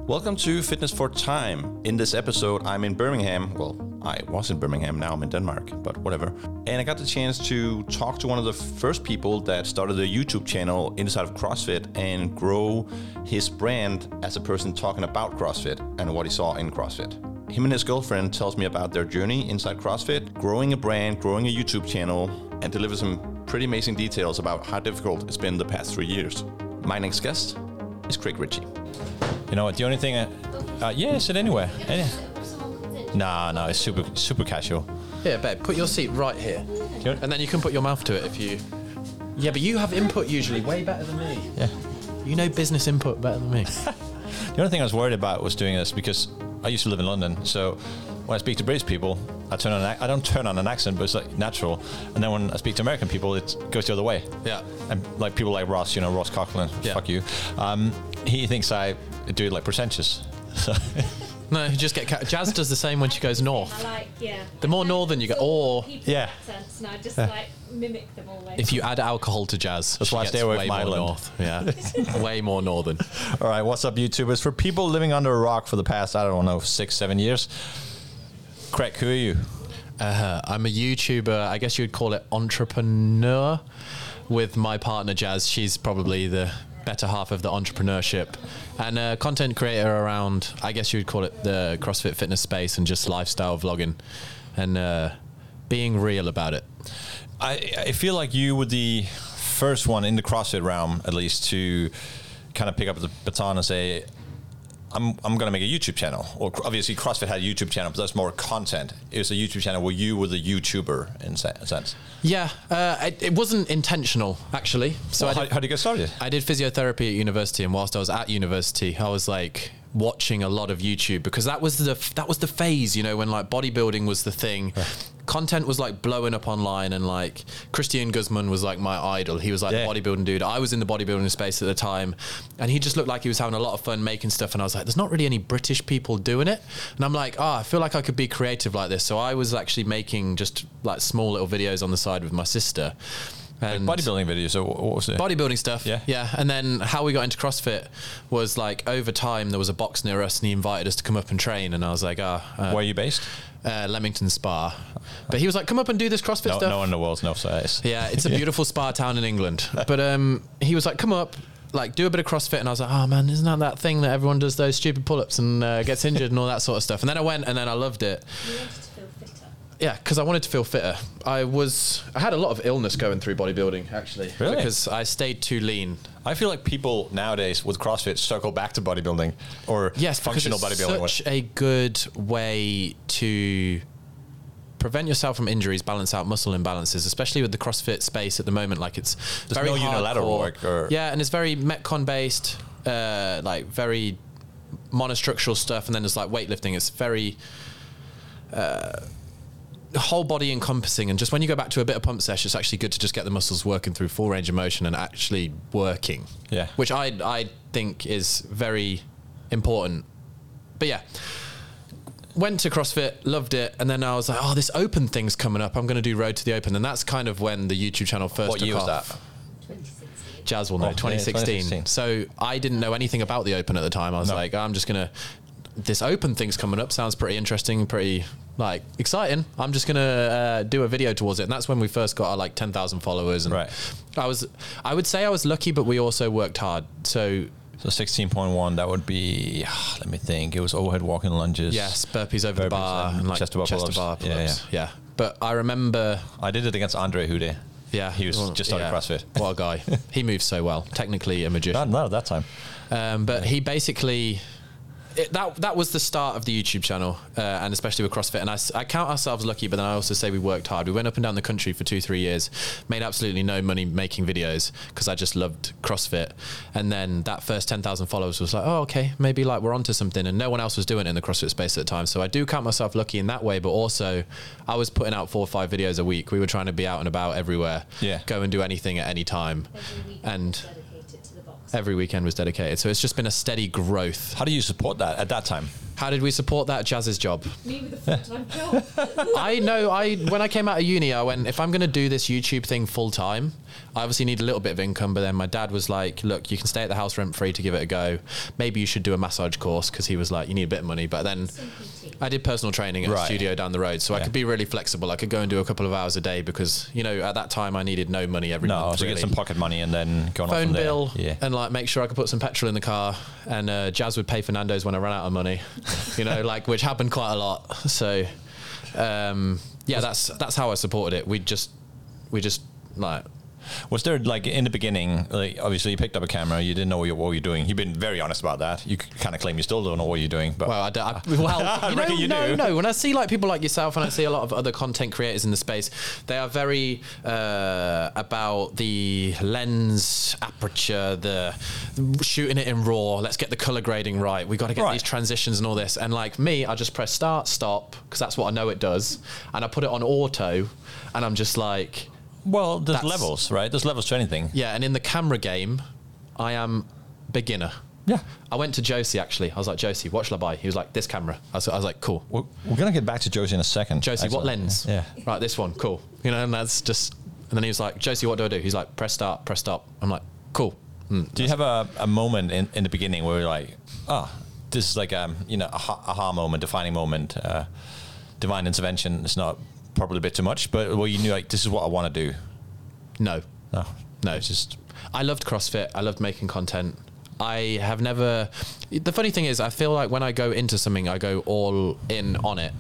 Welcome to Fitness for Time. In this episode, I'm in Birmingham. Well, I was in Birmingham, now I'm in Denmark, but whatever. And I got the chance to talk to one of the first people that started a YouTube channel inside of CrossFit and grow his brand as a person talking about CrossFit and what he saw in CrossFit. Him and his girlfriend tells me about their journey inside CrossFit, growing a brand, growing a YouTube channel, and delivers some pretty amazing details about how difficult it's been the past 3 years. My next guest is Craig Ritchie. You know what? The only thing, yeah, sit anywhere. No, it's super casual. Yeah, babe, put your seat right here, and then you can put your mouth to it if you. Yeah, but you have input usually way better than me. Yeah, you know business input better than me. The only thing I was worried about was doing this because I used to live in London, so when I speak to British people, I don't turn on an accent, but it's like natural. And then when I speak to American people, it goes the other way. Yeah, and like people like Ross, Ross Coughlin, fuck you. He thinks I do it like pretentious. So. No, you just get Jazz does the same when she goes north. The more northern you go, or accents, and I just mimic them always. If you add alcohol to Jazz, that's why I stay away from Ireland. North. Yeah, way more northern. All right, what's up, YouTubers? For people living under a rock for the past, 6-7 years, Craig, who are you? I'm a YouTuber. I guess you'd call it entrepreneur. With my partner Jazz, she's probably the better half of the entrepreneurship, and a content creator around, I guess you would call it the CrossFit fitness space and just lifestyle vlogging and being real about it. I feel like you were the first one in the CrossFit realm, at least, to kind of pick up the baton and say, I'm going to make a YouTube channel. Or obviously CrossFit had a YouTube channel, but that's more content. It was a YouTube channel where you were the YouTuber in a sense. Yeah, it wasn't intentional, actually. So how did you get started? I did physiotherapy at university, and whilst I was at university, I was like watching a lot of YouTube because that was the phase, when like bodybuilding was the thing. Content was like blowing up online, and like Christian Guzman was like my idol. He was like the bodybuilding dude. I was in the bodybuilding space at the time, and he just looked like he was having a lot of fun making stuff, and I was like, there's not really any British people doing it, and I'm like, I feel like I could be creative like this. So I was actually making just like small little videos on the side with my sister. And like bodybuilding videos, so what was it? Bodybuilding stuff, yeah. And then how we got into CrossFit was like over time there was a box near us and he invited us to come up and train, and I was like, where are you based? Leamington Spa. But he was like, come up and do this CrossFit stuff. No one in the world's no size. Yeah, it's a beautiful spa town in England. But he was like, come up, like do a bit of CrossFit, and I was like, oh man, isn't that thing that everyone does those stupid pull-ups and gets injured and all that sort of stuff. And then I went and then I loved it. You wanted to feel fitter. Yeah, because I wanted to feel fitter. I had a lot of illness going through bodybuilding, actually. Really? Because I stayed too lean. I feel like people nowadays with CrossFit circle back to bodybuilding or functional bodybuilding. Such a good way to prevent yourself from injuries, balance out muscle imbalances, especially with the CrossFit space at the moment. Like there's very no hardcore, unilateral work. And it's very Metcon based, like very monostructural stuff, and then there's like weightlifting. It's very whole body encompassing, and just when you go back to a bit of pump session, it's actually good to just get the muscles working through full range of motion and actually working. Yeah, which I think is very important. But yeah, went to CrossFit, loved it, and then I was like, oh, this open thing's coming up. I'm going to do Road to the Open, and that's kind of when the YouTube channel first took off. What year was that? 2016. Jazz will know. 2016. So I didn't know anything about the Open at the time. I was like, I'm just going to. This Open thing's coming up. Sounds pretty interesting, pretty like exciting. I'm just gonna do a video towards it, and that's when we first got our like 10,000 followers. And I would say I was lucky, but we also worked hard. So 16.1, that would be, let me think. It was overhead walking lunges. Yes, burpees over the bar and like chest to bar pull-ups. Yeah. But I remember I did it against Andre Hude. Yeah, he was just started CrossFit. What a guy! He moves so well. Technically a magician. Not at that time. But he basically. That was the start of the YouTube channel, and especially with CrossFit. And I count ourselves lucky, but then I also say we worked hard. We went up and down the country for 2-3 years, made absolutely no money making videos because I just loved CrossFit. And then that first 10,000 followers was like, oh, okay, maybe like we're onto something. And no one else was doing it in the CrossFit space at the time. So I do count myself lucky in that way, but also I was putting out 4 or 5 videos a week. We were trying to be out and about everywhere, go and do anything at any time. Every week and dedicated to the box. Every weekend was dedicated. So it's just been a steady growth. How do you support that at that time? How did we support that? Jazz's job. Me with a full-time job. I know. When I came out of uni, I went, if I'm going to do this YouTube thing full time, I obviously need a little bit of income. But then my dad was like, look, you can stay at the house rent free to give it a go. Maybe you should do a massage course, because he was like, you need a bit of money. But then I did personal training at a studio down the road, so I could be really flexible. I could go and do a couple of hours a day because, you know, at that time I needed no money every month. So really. get some pocket money and then go on phone from there. bill, Yeah. and like make sure I could put some petrol in the car. And Jazz would pay for Nando's when I ran out of money, you know, like, which happened quite a lot. So yeah, that's how I supported it. We just like. Was there, like, in the beginning, like, obviously you picked up a camera, you didn't know what you're doing. You've been very honest about that. You kind of claim you still don't know what you're doing. But Well, I reckon you do. No. When I see like people like yourself, and I see a lot of other content creators in the space, they are very about the lens aperture, the shooting it in RAW. Let's get the color grading right. We got to get these transitions and all this. And like me, I just press start, stop, because that's what I know it does, and I put it on auto, and I'm just like. Well, there's levels, right? There's levels to anything. Yeah, and in the camera game, I am beginner. Yeah. I went to Josie, actually. I was like, Josie, what shall I buy? He was like, this camera. I was like, cool. We're going to get back to Josie in a second. Josie, Excellent. what lens? Yeah. Right, this one, cool. You know, and that's just... And then he was like, Josie, what do I do? He's like, press start, press stop. I'm like, cool. Do you have a moment in the beginning where you're like, this is like you know, aha moment, defining moment, divine intervention? It's not probably a bit too much, but where you knew, like, this is what I want to do? No. It's just... I loved CrossFit. I loved making content. I have never... The funny thing is, I feel like when I go into something, I go all in on it.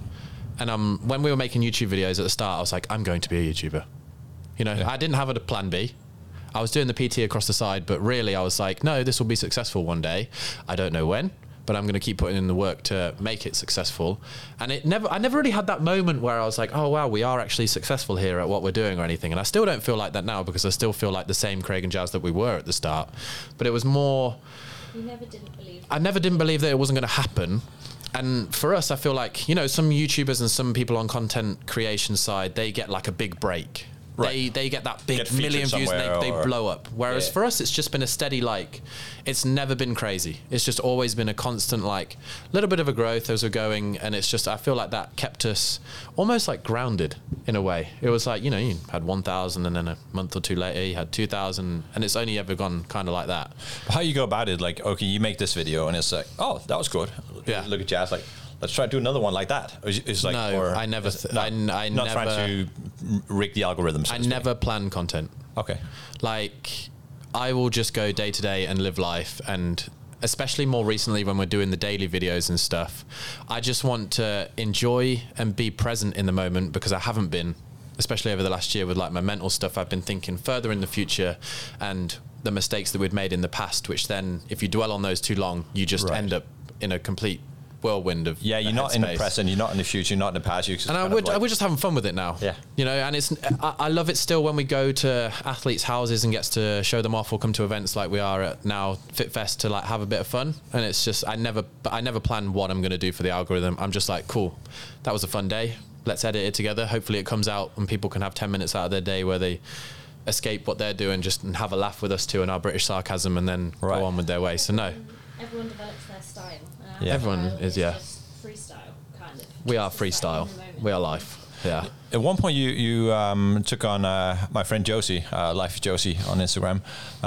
And when we were making YouTube videos at the start, I was like, I'm going to be a YouTuber. You know, I didn't have a plan B. I was doing the PT across the side, but really I was like, no, this will be successful one day. I don't know when, but I'm going to keep putting in the work to make it successful. And I never really had that moment where I was like, oh wow, we are actually successful here at what we're doing or anything. And I still don't feel like that now, because I still feel like the same Craig and Jazz that we were at the start. But it was more... You never didn't believe. I never didn't believe that it wasn't going to happen. And for us, I feel like, you know, some YouTubers and some people on content creation side, they get like a big break. Right. They get that big million views and they blow up. Whereas for us, it's just been a steady, like, it's never been crazy. It's just always been a constant, like, little bit of a growth as we're going. And it's just, I feel like that kept us almost like grounded in a way. It was like, you know, you had 1,000 and then a month or two later you had 2,000, and it's only ever gone kind of like that. How you go about it, like, okay, you make this video and it's like, oh, that was good. Yeah. Look at Jazz, like, let's try to do another one like that. It's like, no, I never. I not never, trying to rig the algorithm. So I never plan content. Okay. Like, I will just go day to day and live life, and especially more recently when we're doing the daily videos and stuff, I just want to enjoy and be present in the moment, because I haven't been, especially over the last year with like my mental stuff. I've been thinking further in the future and the mistakes that we'd made in the past, which then if you dwell on those too long, you just end up in a complete whirlwind of you're not in the present, you're not in the future, you're not in the past. And we're just having fun with it now. Yeah, you know, and I love it still when we go to athletes' houses and gets to show them off, or come to events like we are at now FitFest to like have a bit of fun. And it's just I never plan what I'm going to do for the algorithm. I'm just like, cool, that was a fun day. Let's edit it together. Hopefully it comes out and people can have 10 minutes out of their day where they escape what they're doing, just and have a laugh with us too and our British sarcasm, and then go on with their way. So no. Everyone develops their style. Everyone is, just freestyle, kind of. We are freestyle. We are life. Yeah. At one point, you took on my friend Josie, Life Josie on Instagram.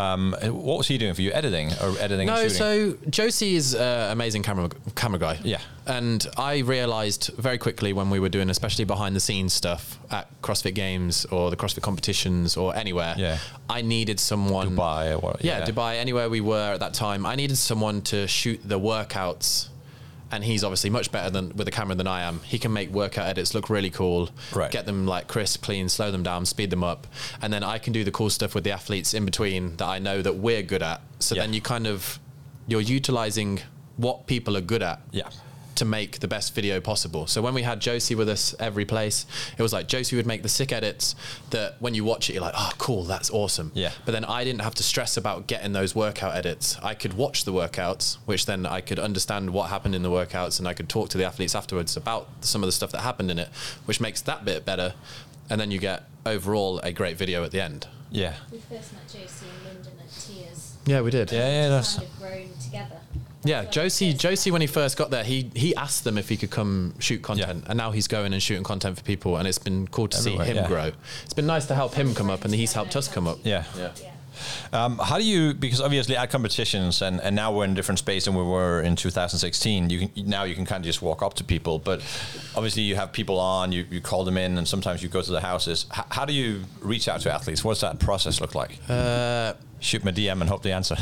What was he doing for you? Editing or editing? No, and shooting? so Josie is an amazing camera guy. Yeah. And I realised very quickly when we were doing, especially behind the scenes stuff at CrossFit Games or the CrossFit competitions or anywhere, I needed someone. Dubai or what? Yeah, Dubai, anywhere we were at that time. I needed someone to shoot the workouts. And he's obviously much better with a camera than I am. He can make workout edits look really cool, get them like crisp, clean, slow them down, speed them up. And then I can do the cool stuff with the athletes in between that I know that we're good at. So then you're utilizing what people are good at to make the best video possible. So when we had Josie with us every place, it was like Josie would make the sick edits that when you watch it, you're like, oh, cool, that's awesome. Yeah. But then I didn't have to stress about getting those workout edits. I could watch the workouts, which then I could understand what happened in the workouts, and I could talk to the athletes afterwards about some of the stuff that happened in it, which makes that bit better. And then you get overall a great video at the end. Yeah. We first met Josie in London at Tia's. Yeah, we did. Yeah, that's. Kind of grown together. Yeah, That's where we Josie, first met. when he first got there, he asked them if he could come shoot content, and now he's going and shooting content for people, and it's been cool to Everywhere, see him yeah. grow. It's been nice to help him come up, and he's helped us come up. Yeah. Yeah. Yeah. How do you, because obviously at competitions and now we're in a different space than we were in 2016, you can kind of just walk up to people, but obviously you have people on, you call them in, and sometimes you go to the houses. How do you reach out to athletes? What's that process look like? Shoot my DM and hope they answer.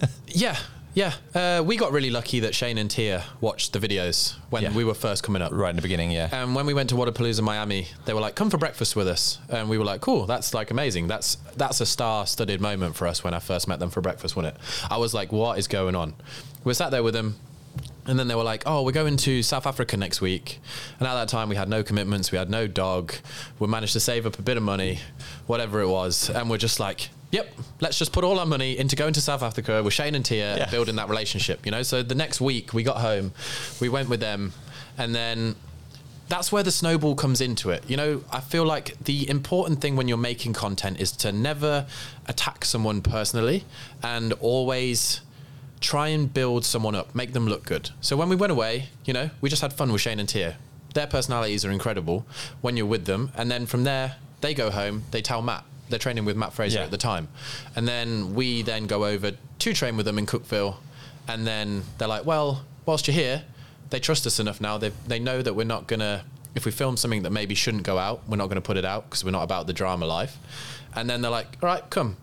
Yeah. We got really lucky that Shane and Tia watched the videos when we were first coming up. Right in the beginning, yeah. And when we went to Wadapalooza Miami, they were like, come for breakfast with us. And we were like, cool, that's like amazing. That's a star-studded moment for us when I first met them for breakfast, wasn't it? I was like, what is going on? We sat there with them, and then they were like, oh, we're going to South Africa next week. And at that time, we had no commitments, we had no dog. We managed to save up a bit of money, whatever it was. And we're just like, yep, let's just put all our money into going to South Africa with Shane and Tia, Yeah. building that relationship, you know? So the next week we got home, we went with them, and then that's where the snowball comes into it. You know, I feel like the important thing when you're making content is to never attack someone personally, and always try and build someone up, make them look good. So when we went away, you know, we just had fun with Shane and Tia. Their personalities are incredible when you're with them. And then from there, they go home, they tell Matt. They're training with Matt Fraser at the time. And then we then go over to train with them in Cookville. And then they're like, well, whilst you're here, they trust us enough now. They know that we're not going to, if we film something that maybe shouldn't go out, we're not going to put it out because we're not about the drama life. And then they're like, all right, come,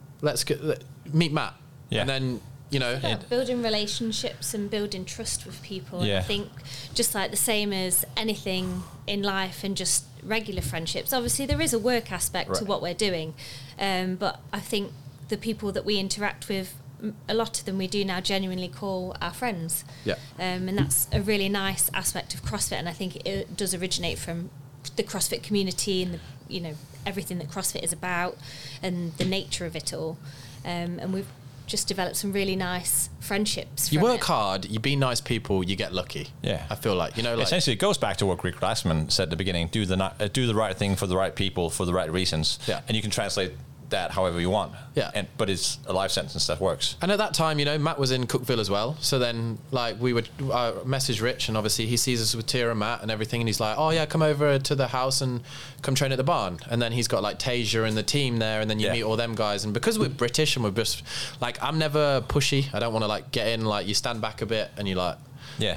meet Matt. Yeah. And then, you know. Yeah, building relationships and building trust with people. And Yeah. I think just like the same as anything in life and just regular friendships. Obviously, there is a work aspect to what we're doing. But I think the people that we interact with, a lot of them we do now genuinely call our friends. Yeah. And that's a really nice aspect of CrossFit. And I think it does originate from the CrossFit community and, everything that CrossFit is about and the nature of it all. And we've just developed some really nice friendships. You from work it. hard, you be nice people, you get lucky. Yeah. I feel like, Essentially, it goes back to what Rick Glassman said at the beginning: do the right thing for the right people for the right reasons. Yeah. And you can translate that however you want. Yeah. But it's a life sentence that works. And at that time, Matt was in Cookville as well. So then, we would message Rich, and obviously he sees us with Tia and Matt and everything, and he's like, "Oh yeah, come over to the house and come train at the barn." And then he's got like Tasia and the team there, and then you meet all them guys. And because we're British and we're just like, I'm never pushy. I don't want to get in. You stand back a bit, and you're Yeah.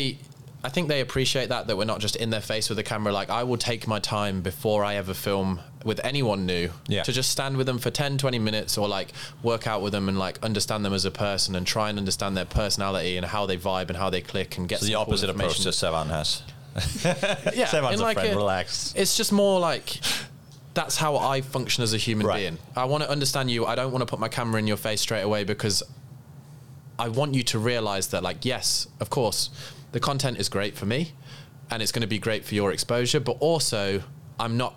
I think they appreciate that we're not just in their face with the camera. I will take my time before I ever film with anyone new to just stand with them for 10, 20 minutes or work out with them and understand them as a person and try and understand their personality and how they vibe and how they click and get So the some cool opposite approach information. to Sevan has. Yeah, Sevan's in a friend, relax. It's just more that's how I function as a human Right. being. I want to understand you. I don't want to put my camera in your face straight away because I want you to realize that yes, of course, the content is great for me and it's going to be great for your exposure, but also I'm not,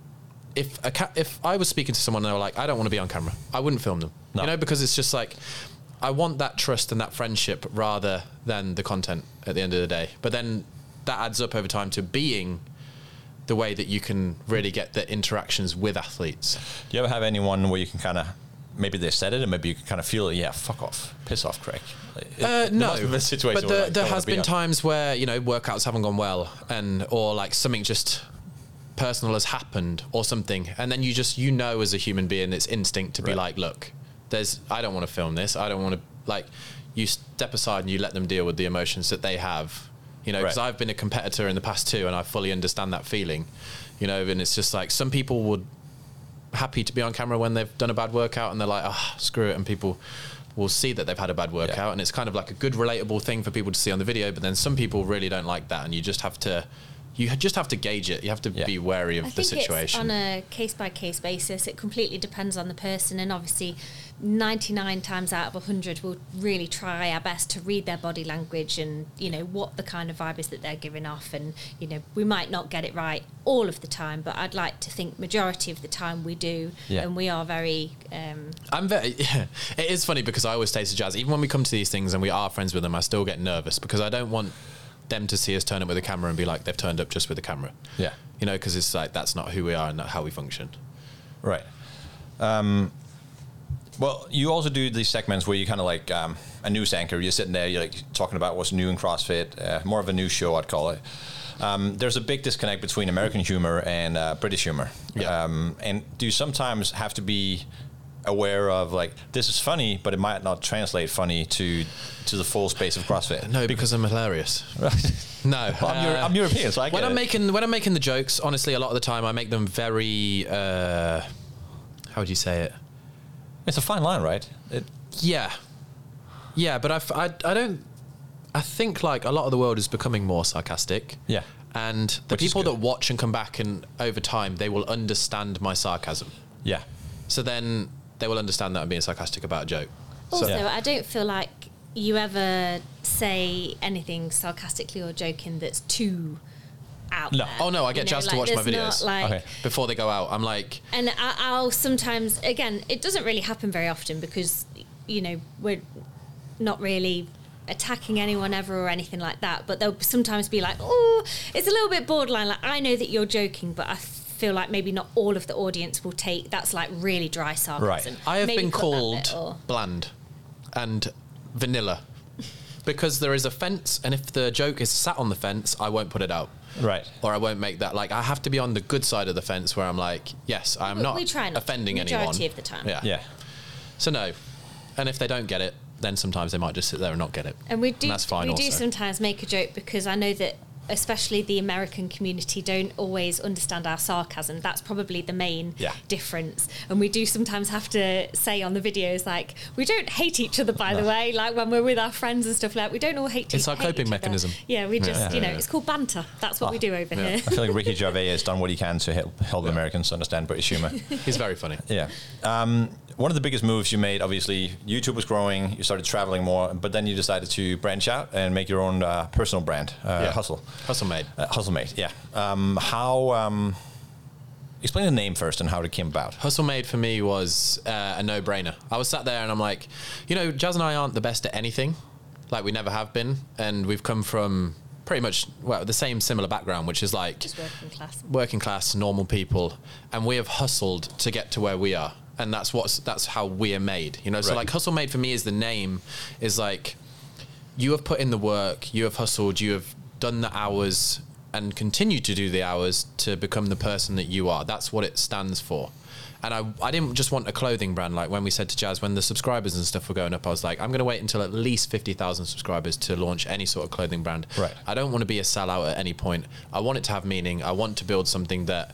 if I was speaking to someone and they were like, I don't want to be on camera, I wouldn't film them, No. because it's just I want that trust and that friendship rather than the content at the end of the day. But then that adds up over time to being the way that you can really get the interactions with athletes. Do you ever have anyone where you can kind of, maybe they said it and maybe you can kind of feel, fuck off, piss off, Craig? No, must be a situation but where, there don't has wanna be been on. times where workouts haven't gone well, or something just personal has happened or something, and then you as a human being, it's instinct to be look, I don't want to film this. I don't want to you step aside and you let them deal with the emotions that they have, because I've been a competitor in the past too, and I fully understand that feeling, and it's just some people would happy to be on camera when they've done a bad workout and they're like, screw it, and people will see that they've had a bad workout and it's kind of a good relatable thing for people to see on the video, but then some people really don't like that, and you just have to gauge it. You have to be wary of the situation. It's on a case-by-case basis. It completely depends on the person, and obviously 99 times out of 100 we'll really try our best to read their body language and what the kind of vibe is that they're giving off, and we might not get it right all of the time, but I'd like to think majority of the time we do, and we are very it is funny because I always say to Jazz, even when we come to these things and we are friends with them, I still get nervous because I don't want them to see us turn up with a camera and be like they've turned up just with a camera. Yeah. Because it's that's not who we are and not how we function. Right. Well, you also do these segments where you kind of like a news anchor. You're sitting there, you're like talking about what's new in CrossFit, more of a news show, I'd call it. There's a big disconnect between American humor and British humor. Yeah. And do you sometimes have to be aware of like, this is funny, but it might not translate funny to the full space of CrossFit? No, because I'm hilarious. No, Well, I'm European, so I get when I'm it. making the jokes, honestly, a lot of the time I make them very. How would you say it? It's a fine line, right? Yeah, but I don't. I think like a lot of the world is becoming more sarcastic. Yeah. And the Which is people good. that watch and come back and over time they will understand my sarcasm. Yeah. So then they will understand that I'm being sarcastic about a joke. Also, Yeah. I don't feel like you ever say anything sarcastically or joking that's too out No. there. Oh no, I get You know, Jazz to watch my there's videos not, like, Okay. before they go out. I'm like, And I'll sometimes, again, it doesn't really happen very often because, you know, we're not really attacking anyone ever or anything like that. But they'll sometimes be like, oh, it's a little bit borderline. Like, I know that you're joking, but I feel like maybe not all of the audience will take, that's like really dry sarcasm. Right. I have Maybe been cut that called bit, or- bland and vanilla because there is a fence, and if the joke is sat on the fence, I won't put it out. Right. Or I won't make that, like, I have to be on the good side of the fence where I'm like, yes, I'm We- not we try not to, offending majority anyone. of the time. Yeah. Yeah. So no. And if they don't get it, then sometimes they might just sit there and not get it. And we do, that's fine we do also. sometimes make a joke because I know that especially the American community don't always understand our sarcasm. That's probably the main Yeah. difference. And we do sometimes have to say on the videos, like, we don't hate each other, by the way. Like when we're with our friends and stuff, like we don't all hate It's our hate coping each other. mechanism. Yeah, we just, Yeah. you know, it's called banter. That's what we do over here. I feel like Ricky Gervais has done what he can to help Americans understand British humor. He's very funny. Yeah. One of the biggest moves you made, obviously, YouTube was growing, you started traveling more, but then you decided to branch out and make your own personal brand, Hustle. Hustle Made. HustleMate, yeah. Explain the name first and how it came about. Hustle Made for me was a no-brainer. I was sat there and I'm like, you know, Jazz and I aren't the best at anything. Like we never have been. And we've come from pretty much, well, the same similar background, which is like Just working class, normal people. And we have hustled to get to where we are. And that's how we are made, you know? So Right. like Hustle Made for me is the name is like, you have put in the work, you have hustled, you have done the hours and continue to do the hours to become the person that you are. That's what it stands for. And I didn't just want a clothing brand. Like when we said to Jazz, when the subscribers and stuff were going up, I was like, I'm going to wait until at least 50,000 subscribers to launch any sort of clothing brand. Right. I don't want to be a sellout at any point. I want it to have meaning. I want to build something that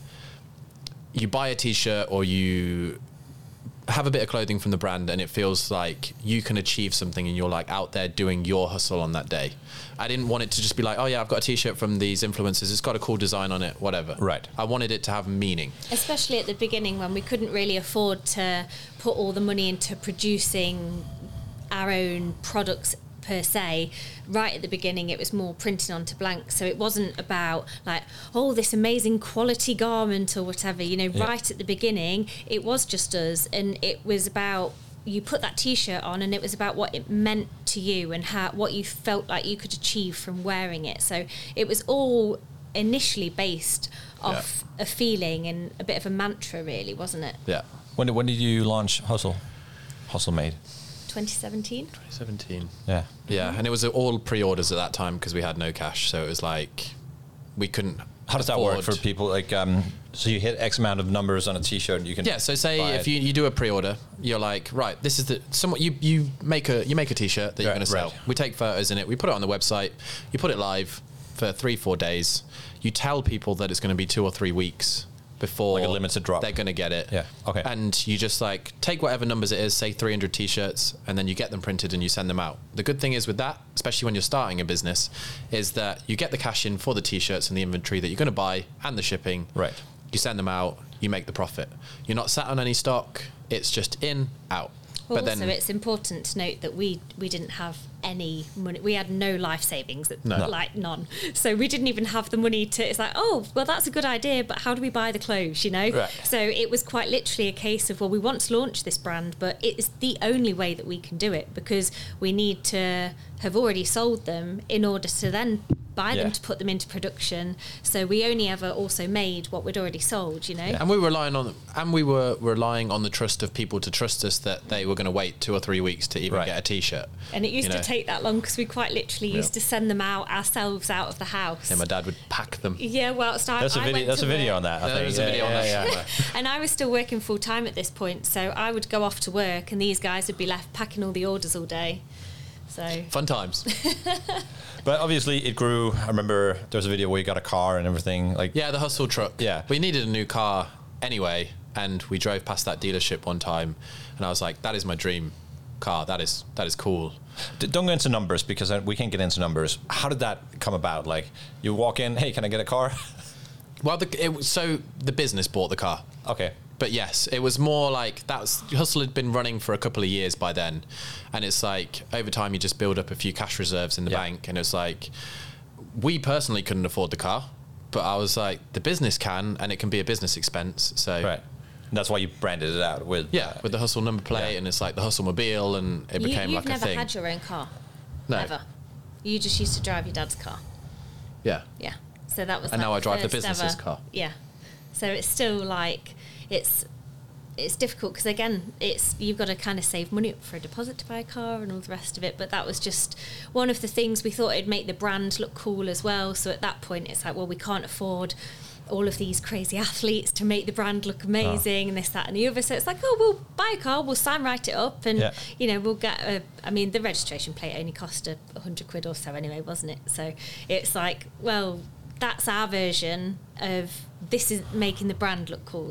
you buy a t-shirt or you have a bit of clothing from the brand and it feels like you can achieve something and you're like out there doing your hustle on that day. I didn't want it to just be like, oh yeah, I've got a t-shirt from these influencers, it's got a cool design on it, whatever. Right. I wanted it to have meaning. Especially at the beginning when we couldn't really afford to put all the money into producing our own products per se. Right at the beginning it was more printing onto blank, so it wasn't about like, oh, this amazing quality garment or whatever, you know. Yeah. Right at the beginning it was just us, and it was about, you put that t-shirt on and it was about what it meant to you and what you felt like you could achieve from wearing it. So it was all initially based off a feeling and a bit of a mantra, really, wasn't it? Yeah. When did you launch HustleMade? 2017. 2017. Yeah. Yeah, and it was all pre-orders at that time because we had no cash, so it was like we couldn't. How does that work afford- for people? Like, so you hit X amount of numbers on a T-shirt, you can. Yeah, so say buy if it. you do a pre-order, you're like, right, this is the somewhat you make a t-shirt that you're Right, going to sell. right. We take photos in it, we put it on the website, you put it live for 3-4 days. You tell people that it's going to be 2 or 3 weeks before Like a limited drop. they're going to get it. Yeah, okay. And you just like take whatever numbers it is, say 300 t-shirts, and then you get them printed and you send them out. The good thing is with that, especially when you're starting a business, is that you get the cash in for the t-shirts and the inventory that you're going to buy and the shipping. Right. You send them out, you make the profit. You're not sat on any stock. It's just in, out. Well, but also, then it's important to note that we didn't have any money. We had no life savings, No. like none. So we didn't even have the money to. It's like, oh, well, that's a good idea, but how do we buy the clothes? You know. Right. So it was quite literally a case of, well, we want to launch this brand, but it is the only way that we can do it because we need to have already sold them in order to then buy Yeah. them to put them into production. So we only ever also made what we'd already sold, And we were relying on the trust of people to trust us that they were going to wait 2 or 3 weeks to even Right. get a T-shirt. And it used to take that long because we quite literally used to send them out ourselves out of the house. And my dad would pack them. Yeah, well, so There's a I video. went There's to a video work. on that. I think. There's a video on that. And I was still working full time at this point, so I would go off to work, and these guys would be left packing all the orders all day. So Fun times. But obviously, it grew. I remember there was a video where you got a car and everything. Like, Yeah, the hustle truck. Yeah. We needed a new car anyway, and we drove past that dealership one time, and I was like, that is my dream car. That is cool. Don't go into numbers because we can't get into numbers. How did that come about? Like, you walk in, hey, can I get a car? Well, so the business bought the car. Okay. But yes, it was more like Hustle had been running for a couple of years by then, and it's like over time you just build up a few cash reserves in the bank, and it's like we personally couldn't afford the car, but I was like the business can, and it can be a business expense. So Right. And that's why you branded it out with with the Hustle number plate, and it's like the Hustle mobile, and it became you've like a never thing. had your own car, No. ever. You just used to drive your dad's car. Yeah. Yeah. So that was. And now I drive the first business's ever- car. Yeah. So it's still like it's difficult because again you've got to kind of save money up for a deposit to buy a car and all the rest of it. But that was just one of the things we thought it'd make the brand look cool as well. So at that point it's like, well, we can't afford all of these crazy athletes to make the brand look amazing and this, that and the other. So it's like, oh, we'll buy a car, we'll sign write it up, and we'll get the registration plate only cost £100 or so anyway, wasn't it? So it's like, well, that's our version of this is making the brand look cool,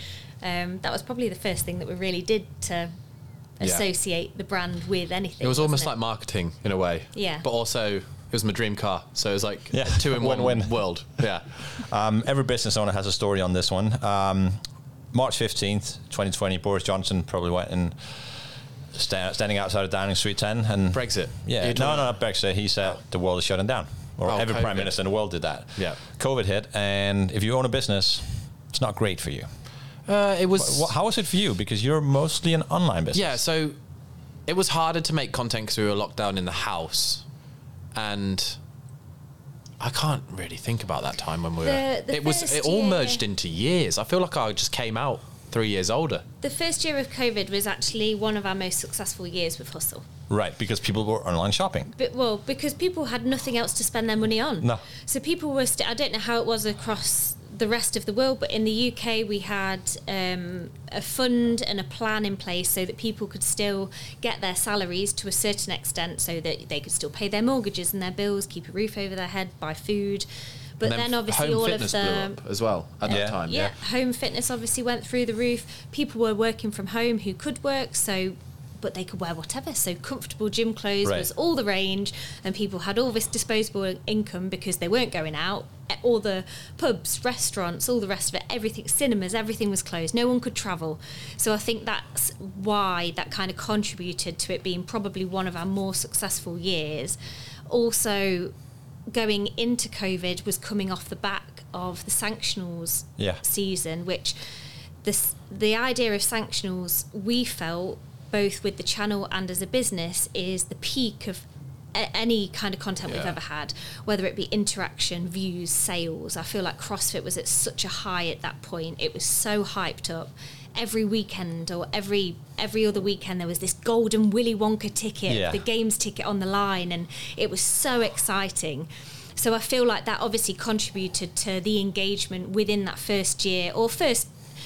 that was probably the first thing that we really did to associate the brand with anything. It was almost like wasn't marketing in a way. Yeah. But also it was my dream car, so it was like a 2-in-1 Win-win. world. Yeah. Every business owner has a story on this one. March 15th, 2020, Boris Johnson probably went and standing outside of Downing Street 10 and Brexit. Yeah, You're talking- not Brexit. He said the world is shutting down. Or every COVID. prime minister in the world did that. Yeah. COVID hit, and if you own a business, it's not great for you. It was. How was it for you? Because you're mostly an online business. Yeah, so it was harder to make content because we were locked down in the house, and I can't really think about that time when we were. The It was. first It all year- merged into years. I feel like I just came out 3 years older. The first year of COVID was actually one of our most successful years with Hustle. Right, because people were online shopping. But, because people had nothing else to spend their money on. No. So people were, I don't know how it was across the rest of the world, but in the UK we had a fund and a plan in place so that people could still get their salaries to a certain extent so that they could still pay their mortgages and their bills, keep a roof over their head, buy food. But And then obviously home all fitness of the... blew up as well at that time. Yeah, home fitness obviously went through the roof. People were working from home who could work, but they could wear whatever. So comfortable gym clothes Right. was all the range, and people had all this disposable income because they weren't going out. All the pubs, restaurants, all the rest of it, everything, cinemas, everything was closed. No one could travel. So I think that's why that kind of contributed to it being probably one of our more successful years. Also, going into COVID was coming off the back of the sanctionals season, which the idea of sanctionals, we felt, both with the channel and as a business, is the peak of any kind of content we've ever had, whether it be interaction, views, sales. I feel like CrossFit was at such a high at that point. It was so hyped up. Every weekend or every other weekend there was this golden Willy Wonka ticket, the games ticket on the line, and it was so exciting. So I feel like that obviously contributed to the engagement within that first year, or first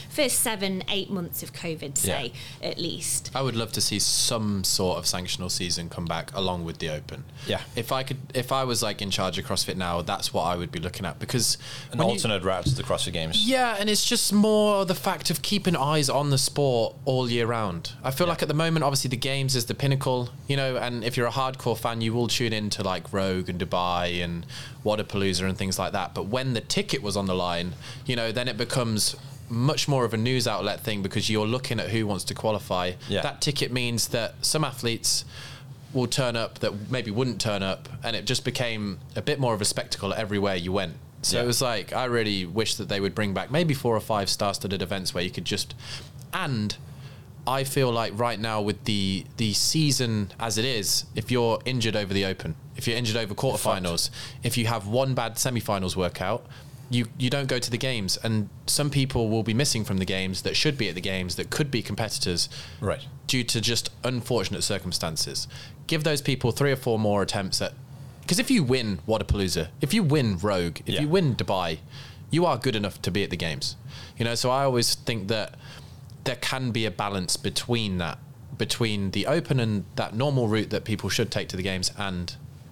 7-8 months of COVID, say, at least. I would love to see some sort of sanctional season come back along with the Open. Yeah. If I was like in charge of CrossFit now, that's what I would be looking at, because An alternate route to the CrossFit Games. Yeah, and it's just more the fact of keeping eyes on the sport all year round. I feel like at the moment, obviously the Games is the pinnacle, and if you're a hardcore fan, you will tune into like Rogue and Dubai and Wadapalooza and things like that. But when the ticket was on the line, then it becomes much more of a news outlet thing, because you're looking at who wants to qualify. That ticket means that some athletes will turn up that maybe wouldn't turn up, and it just became a bit more of a spectacle everywhere you went. So it was like, I really wish that they would bring back maybe 4 or 5 star-studded events where you could just, and I feel like right now with the season as it is, if you're injured over the Open, if you're injured over quarterfinals, if you have one bad semi-finals workout, you don't go to the games, and some people will be missing from the games that should be at the games that could be competitors, Right. due to just unfortunate circumstances. Give those people 3 or 4 more attempts at, because if you win Wodapalooza, if you win Rogue, if you win Dubai, you are good enough to be at the games. You know, so I always think that there can be a balance between that, between the Open and that normal route that people should take to the games. And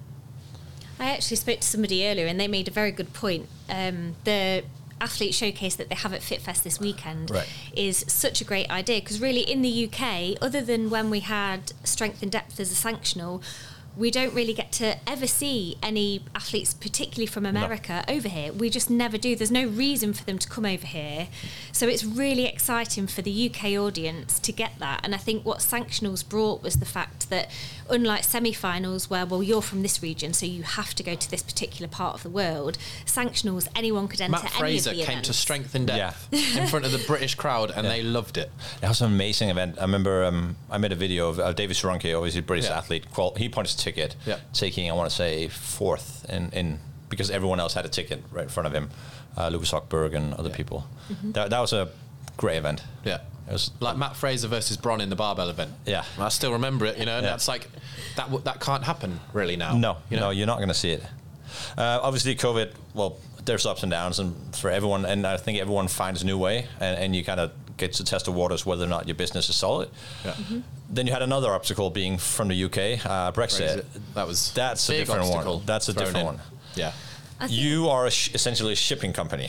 I actually spoke to somebody earlier and they made a very good point. The athlete showcase that they have at FitFest this weekend is such a great idea, because really in the UK, other than when we had strength and depth as a sanctional, we don't really get to ever see any athletes, particularly from America, over here. We just never do. There's no reason for them to come over here. So it's really exciting for the UK audience to get that. And I think what Sanctionals brought was the fact that, unlike semi-finals where, well, you're from this region, so you have to go to this particular part of the world, Sanctionals, anyone could enter Matt any Fraser of the came events. to strength and depth in front of the British crowd, and they loved it. That was an amazing event. I remember I made a video of David Soronki, obviously a British athlete. He punched a ticket, taking, I want to say, 4th in because everyone else had a ticket right in front of him. Lucas Hochberg and other people. That was a great event. Yeah. It was like Matt Fraser versus Bron in the barbell event. Yeah. I still remember it, you know, and that's like, that can't happen really now. No, you know? no, you're not going to see it. Obviously, COVID, well, there's ups and downs, and for everyone, and I think everyone finds a new way, and you kind of get to test the waters whether or not your business is solid. Yeah. Then you had another obstacle being from the UK, Brexit. That's a different one. That's a different one. Yeah. You are essentially a shipping company,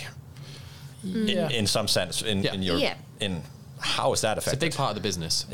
in some sense, in your in. How is that affected? It's a big part of the business.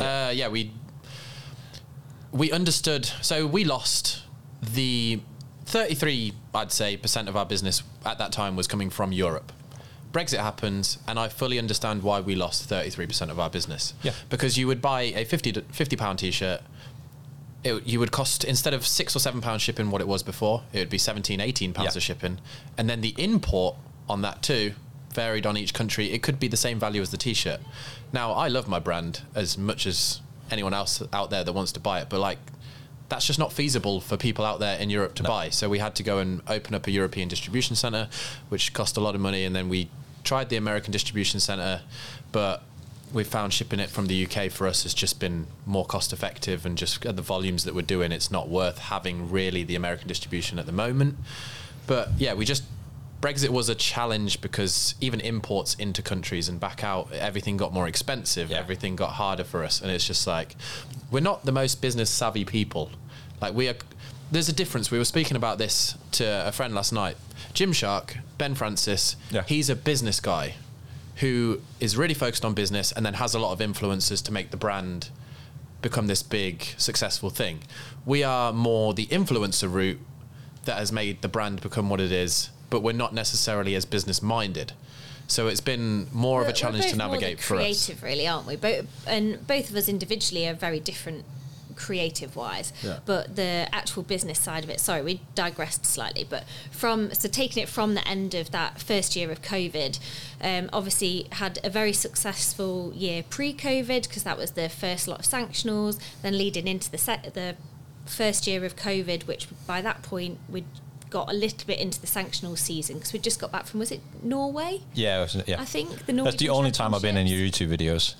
We understood. So we lost the 33, I'd say, % of our business at that time was coming from Europe. Brexit happens, and I fully understand why we lost 33% of our business. Yeah. Because you would buy a £50 t-shirt, you would cost, instead of £6 or £7 shipping what it was before, it would be £17, £18 of shipping. And then the import on that too varied on each country. It could be the same value as the t-shirt. Now, I love my brand as much as anyone else out there that wants to buy it, but like, that's just not feasible for people out there in Europe to buy. So we had to go and open up a European distribution center, which cost a lot of money. And then we tried the American distribution center, but we found shipping it from the UK for us has just been more cost effective, and just the volumes that we're doing, it's not worth having really the American distribution at the moment. But yeah, Brexit was a challenge because even imports into countries and back out, everything got more expensive. Yeah. Everything got harder for us. And it's just like, we're not the most business savvy people. Like there's a difference. We were speaking about this to a friend last night. Gymshark, Ben Francis, he's a business guy who is really focused on business and then has a lot of influencers to make the brand become this big, successful thing. We are more the influencer route that has made the brand become what it is, but we're not necessarily as business minded. So it's been more of a challenge to navigate for us. We're creative, really, aren't we? Both of us individually are very different creative-wise, but the actual business side of it, sorry, we digressed slightly, but taking it from the end of that first year of COVID, obviously had a very successful year pre-COVID, because that was the first lot of sanctionals, then leading into the first year of COVID, which by that point we'd got a little bit into the sanctional season, because we just got back from, was it Norway? Yeah, I think the Norwegian. That's the only time I've been in your YouTube videos.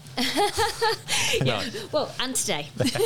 Yeah. Well, and today.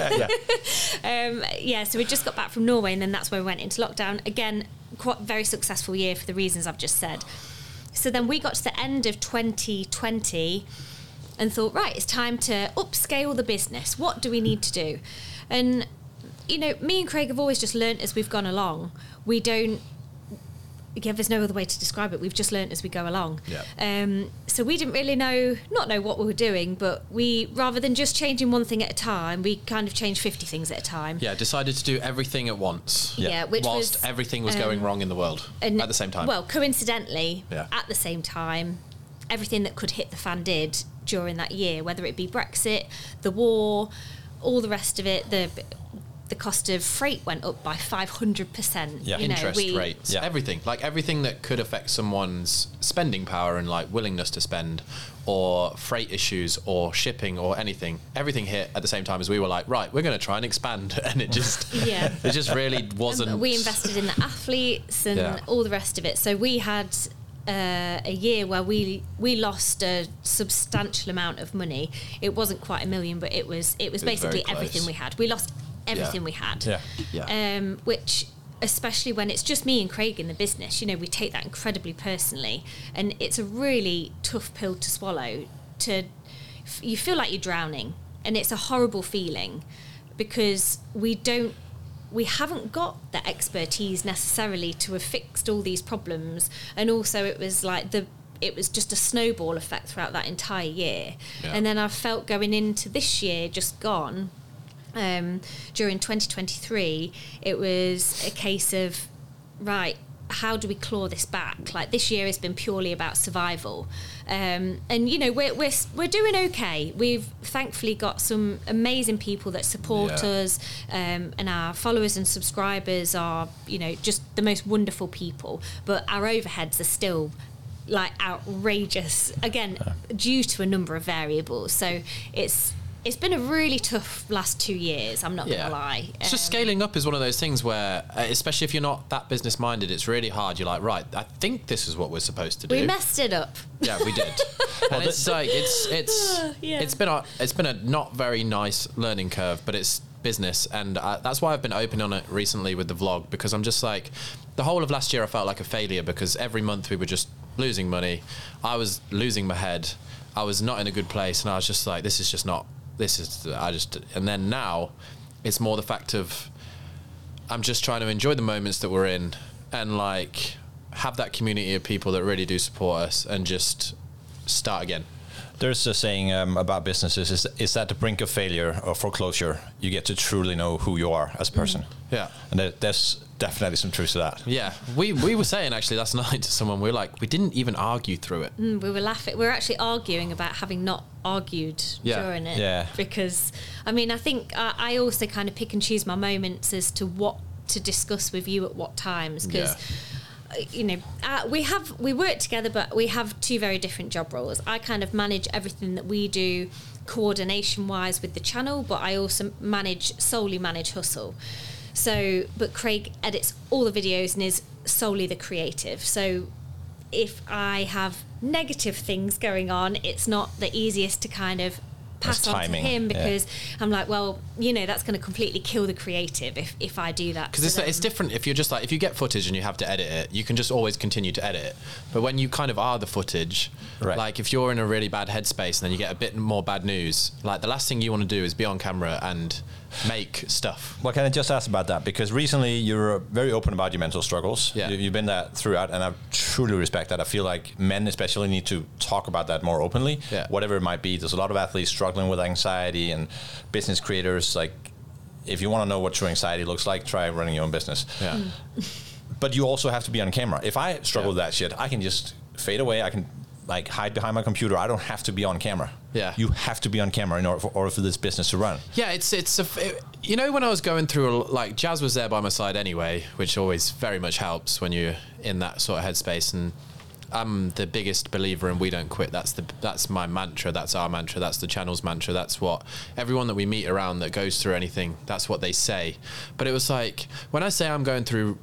So we just got back from Norway, and then that's where we went into lockdown. Again, quite very successful year for the reasons I've just said. So then we got to the end of 2020 and thought, right, it's time to upscale the business. What do we need to do? And, you know, me and Craig have always just learnt as we've gone along. We don't, there's no other way to describe it. We've just learnt as we go along. Yeah. So we didn't really not know what we were doing, but we, rather than just changing one thing at a time, we kind of changed 50 things at a time. Yeah, decided to do everything at once. Yeah, whilst everything was going wrong in the world at the same time. Well, coincidentally, at the same time, everything that could hit the fan did during that year, whether it be Brexit, the war, all the rest of it, the cost of freight went up by 500%. Yeah. Interest rates, everything that could affect someone's spending power and like willingness to spend, or freight issues or shipping or anything. Everything hit at the same time as we were like, right, we're going to try and expand, and it just really wasn't. We invested in the athletes and all the rest of it. So we had a year where we lost a substantial amount of money. It wasn't quite $1 million, but it was basically everything we had. We lost everything we had. Which, especially when it's just me and Craig in the business, you know, we take that incredibly personally, and it's a really tough pill to swallow. You feel like you're drowning, and it's a horrible feeling because we haven't got the expertise necessarily to have fixed all these problems, and also it was just a snowball effect throughout that entire year. And then I felt going into this year just gone, during 2023, it was a case of, right, how do we claw this back? Like, this year has been purely about survival, and you know, we're doing okay. We've thankfully got some amazing people that support us, and our followers and subscribers are, you know, just the most wonderful people. But our overheads are still like outrageous, again, due to a number of variables. So it's been a really tough last 2 years, I'm not going to lie. It's just scaling up is one of those things where, especially if you're not that business minded, it's really hard. You're like, right, I think this is what we're supposed to do. We messed it up. Yeah, we did. And it's like, it's been a not very nice learning curve, but it's business. And that's why I've been open on it recently with the vlog, because I'm just like, the whole of last year I felt like a failure because every month we were just losing money. I was losing my head. I was not in a good place. And I was just like, and then now it's more the fact of I'm just trying to enjoy the moments that we're in and like have that community of people that really do support us and just start again. There's a saying about businesses is that the brink of failure or foreclosure, you get to truly know who you are as a person. Yeah. And there's definitely some truth to that. Yeah. We were saying actually last night to someone, we were like, we didn't even argue through it. We were laughing. We were actually arguing about having not argued during it. Yeah. Because, I mean, I think I also kind of pick and choose my moments as to what to discuss with you at what times. Because... you know, we work together, but we have two very different job roles. I kind of manage everything that we do coordination wise with the channel, but I also solely manage Hustle. So, but Craig edits all the videos and is solely the creative. So if I have negative things going on, it's not the easiest to kind of pass on to him because I'm like, well, you know, that's going to completely kill the creative if I do that. Because it's different if you're just like, if you get footage and you have to edit it, you can just always continue to edit it. But when you kind of are the footage, like if you're in a really bad headspace and then you get a bit more bad news, like the last thing you want to do is be on camera and make stuff. Well, can I just ask about that? Because recently you're very open about your mental struggles. Yeah. You've been that throughout, and I truly respect that. I feel like men especially need to talk about that more openly, whatever it might be. There's a lot of athletes struggling with anxiety and business creators. Like, if you want to know what true anxiety looks like, try running your own business. Yeah. But you also have to be on camera. If I struggle with that shit, I can just fade away. I can like hide behind my computer. I don't have to be on camera. Yeah, you have to be on camera in order for this business to run. Yeah, you know, when I was going through, like, Jazz was there by my side anyway, which always very much helps when you're in that sort of headspace. And I'm the biggest believer in we don't quit. That's my mantra. That's our mantra. That's the channel's mantra. That's what everyone that we meet around that goes through anything, that's what they say. But it was like, when I say I went through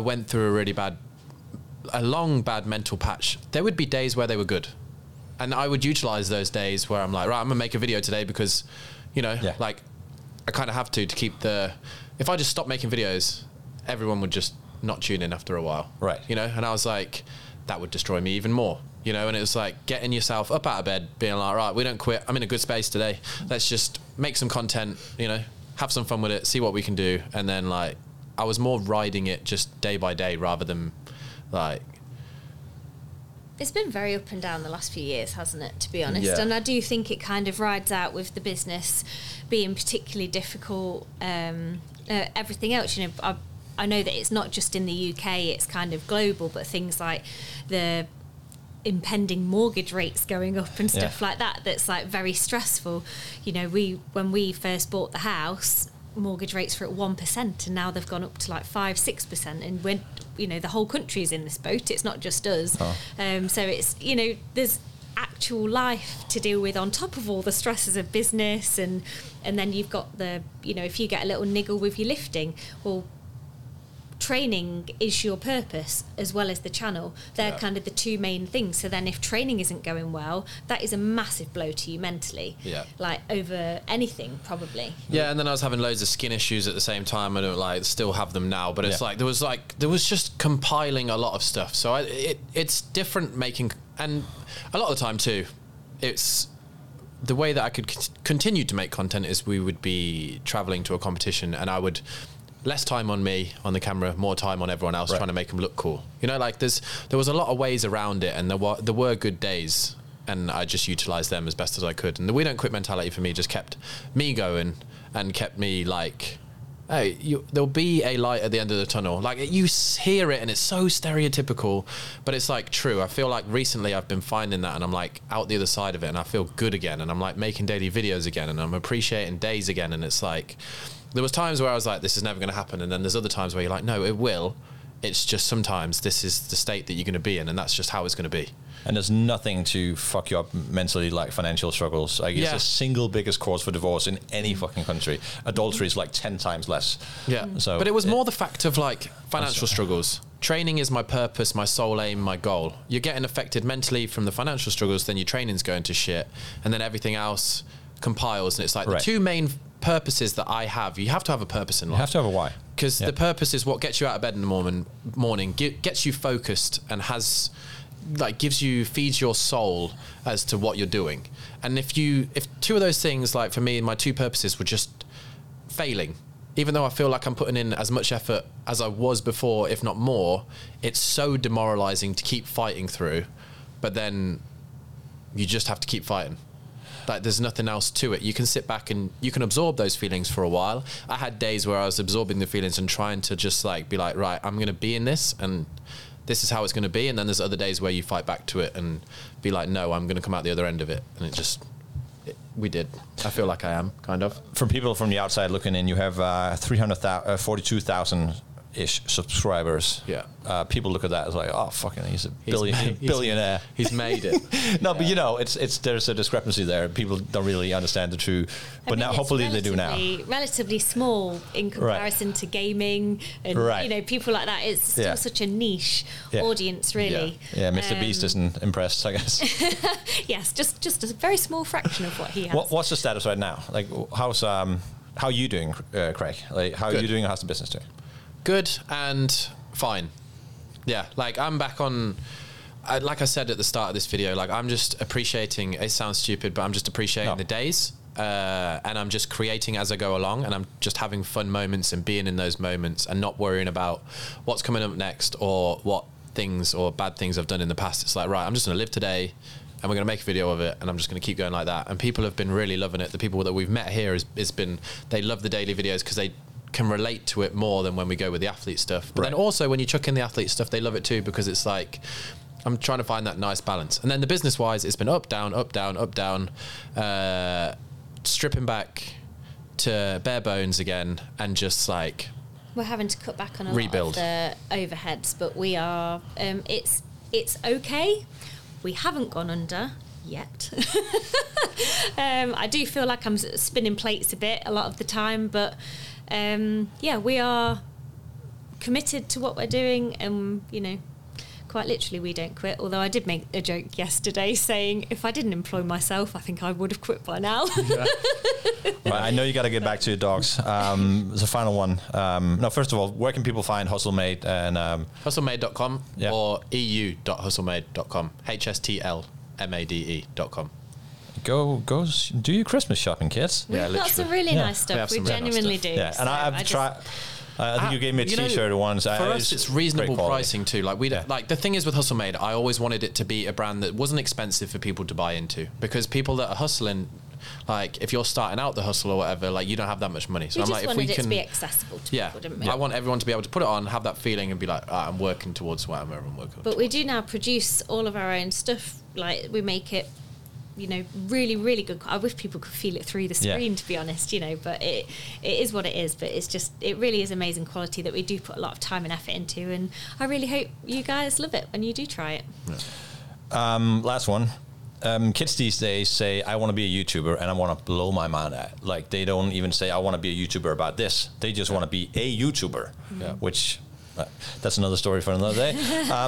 a long bad mental patch, there would be days where they were good, and I would utilize those days where I'm like, right, I'm gonna make a video today because, you know, like I kind of have to keep if I just stopped making videos, everyone would just not tune in after a while, right? You know, and I was like, that would destroy me even more, you know. And it was like getting yourself up out of bed, being like, right, we don't quit, I'm in a good space today, let's just make some content, you know, have some fun with it, see what we can do. And then, like, I was more riding it just day by day rather than like, it's been very up and down the last few years, hasn't it, to be honest? Yeah. And I do think it kind of rides out with the business being particularly difficult. Everything else, you know, I know that it's not just in the UK, it's kind of global, but things like the impending mortgage rates going up and stuff like that, that's like very stressful. You know, when we first bought the house, mortgage rates were at 1%, and now they've gone up to like 5-6%, and when the whole country is in this boat, it's not just us. So it's there's actual life to deal with on top of all the stresses of business, and then you've got the if you get a little niggle with your lifting, well, training is your purpose as well as the channel. They're kind of the two main things. So then if training isn't going well, that is a massive blow to you mentally, like over anything probably. Yeah, and then I was having loads of skin issues at the same time. I don't still have them now, but it's there was just compiling a lot of stuff. So it's different making, and a lot of the time too, it's the way that I could continue to make content is we would be traveling to a competition, and I would less time on me on the camera, more time on everyone else, trying to make them look cool. There was a lot of ways around it, and there were good days, and I just utilised them as best as I could. And the we don't quit mentality for me just kept me going and kept me like, hey, there'll be a light at the end of the tunnel. Like, you hear it and it's so stereotypical, but it's like true. I feel like recently I've been finding that, and I'm like out the other side of it, and I feel good again, and I'm like making daily videos again, and I'm appreciating days again. And it's like, there was times where I was like, this is never going to happen, and then there's other times where you're like, no, it will. It's just sometimes this is the state that you're going to be in, and that's just how it's going to be. And there's nothing to fuck you up mentally like financial struggles. Like, it's the single biggest cause for divorce in any fucking country. Adultery is like 10 times less. Yeah. So, but it was more the fact of like financial struggles. Training is my purpose, my sole aim, my goal. You're getting affected mentally from the financial struggles, then your training's going to shit, and then everything else compiles. And it's like the two main purposes that I have. You have to have a purpose in life. You have to have a why. Because the purpose is what gets you out of bed in the morning, gets you focused, and feeds your soul as to what you're doing. And if two of those things, like for me, my two purposes were just failing, even though I feel like I'm putting in as much effort as I was before, if not more, it's so demoralizing to keep fighting through, but then you just have to keep fighting. Like, there's nothing else to it. You can sit back and you can absorb those feelings for a while. I had days where I was absorbing the feelings and trying to just like be like, right, I'm going to be in this, and this is how it's going to be. And then there's other days where you fight back to it and be like, no, I'm going to come out the other end of it. And we did. I feel like I am, kind of. From people from the outside looking in, you have 42,000-ish subscribers. Yeah. People look at that as like, oh, fucking, he's a billionaire. He's made it. No, but there's a discrepancy there. People don't really understand the true. But now, hopefully, they do now. Relatively small in comparison to gaming, and people like that. It's still such a niche audience, really. Yeah, Mr. Beast isn't impressed, I guess. Yes, just a very small fraction of what he has. What's the status right now? Like, how are you doing, Craig? Like, how are you doing? How's the business doing? Good and fine. Yeah, like I'm back on, like I said at the start of this video, like I'm just appreciating, it sounds stupid, but I'm just appreciating the days, and I'm just creating as I go along, and I'm just having fun moments and being in those moments and not worrying about what's coming up next or what things or bad things I've done in the past. It's like, right, I'm just going to live today, and we're going to make a video of it, and I'm just going to keep going like that. And people have been really loving it. The people that we've met here has been, they love the daily videos because they can relate to it more than when we go with the athlete stuff. But then also when you chuck in the athlete stuff, they love it too, because it's like, I'm trying to find that nice balance. And then the business wise, it's been up, down, up, down, up, down, stripping back to bare bones again, and just like, we're having to cut back on a rebuild. lot of the overheads, but we are, it's okay. We haven't gone under yet. I do feel like I'm spinning plates a bit a lot of the time, but we are committed to what we're doing, and quite literally we don't quit. Although I did make a joke yesterday saying if I didn't employ myself, I think I would have quit by now. Right, I know you got to get back to your dogs. There's a final one. No, first of all, where can people find HustleMade? And hustlemade.com or eu.hustlemade.com. HSTLMADE.com. Go do your Christmas shopping, kids. We've got some really nice stuff. We genuinely do. Yeah, and I've tried. I think you gave me a T-shirt once. For us, it's reasonable pricing too. Like like the thing is with HustleMade, I always wanted it to be a brand that wasn't expensive for people to buy into, because people that are hustling, like if you're starting out the hustle or whatever, like you don't have that much money. So we I'm just like, if we wanted can, it to be accessible to people, didn't we? I want everyone to be able to put it on, have that feeling, and be like, I'm working towards whatever I'm working. But we do now produce all of our own stuff. Like we make it really, really good. I wish people could feel it through the screen, to be honest, but it is what it is. But it really is amazing quality that we do put a lot of time and effort into. And I really hope you guys love it when you do try it. Last one. Kids these days say, I want to be a YouTuber and I want to blow my mind at. Like, they don't even say, I want to be a YouTuber about this. They just want to be a YouTuber, which that's another story for another day.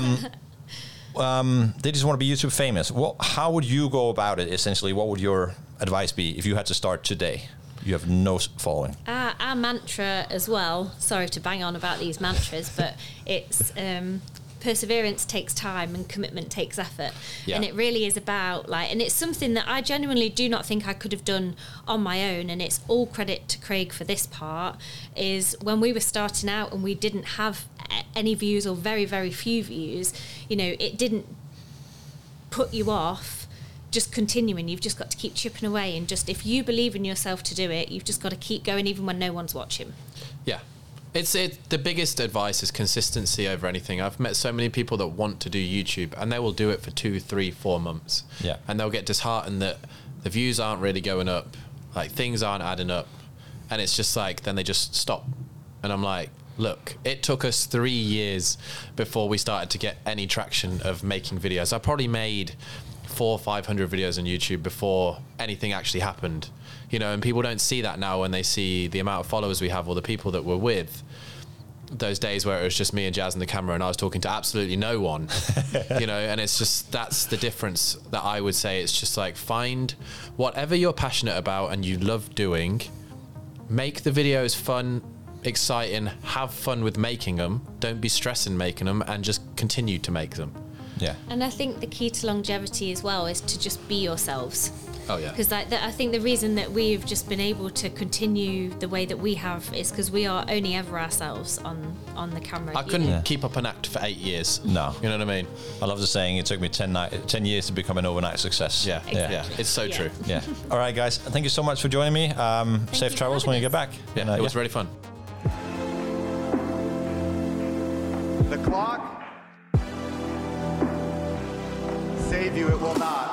They just want to be YouTube famous. How would you go about it, essentially? What would your advice be if you had to start today? You have no following. Our mantra as well, sorry to bang on about these mantras, but it's... perseverance takes time and commitment takes effort. And it really is about and it's something that I genuinely do not think I could have done on my own, and it's all credit to Craig for this part, is when we were starting out and we didn't have any views or very, very few views, it didn't put you off just continuing. You've just got to keep chipping away, and just if you believe in yourself to do it, you've just got to keep going even when no one's watching. It's the biggest advice is consistency over anything. I've met so many people that want to do YouTube and they will do it for 2, 3, 4 months. And they'll get disheartened that the views aren't really going up, things aren't adding up. And it's just then they just stop. And I'm like, look, it took us 3 years before we started to get any traction of making videos. I probably made 400 or 500 videos on YouTube before anything actually happened. And people don't see that now when they see the amount of followers we have or the people that we're with. Those days where it was just me and Jazz and the camera and I was talking to absolutely no one, and it's just, that's the difference that I would say. It's just find whatever you're passionate about and you love doing, make the videos fun, exciting, have fun with making them, don't be stressing making them, and just continue to make them. And I think the key to longevity as well is to just be yourselves. Because I think the reason that we've just been able to continue the way that we have is because we are only ever ourselves on the camera. I couldn't keep up an act for 8 years. No. You know what I mean? I love the saying, it took me 10 years to become an overnight success. Exactly. It's so true. All right, guys. Thank you so much for joining me. Safe travels when you get back. It was really fun. The clock save you, it will not.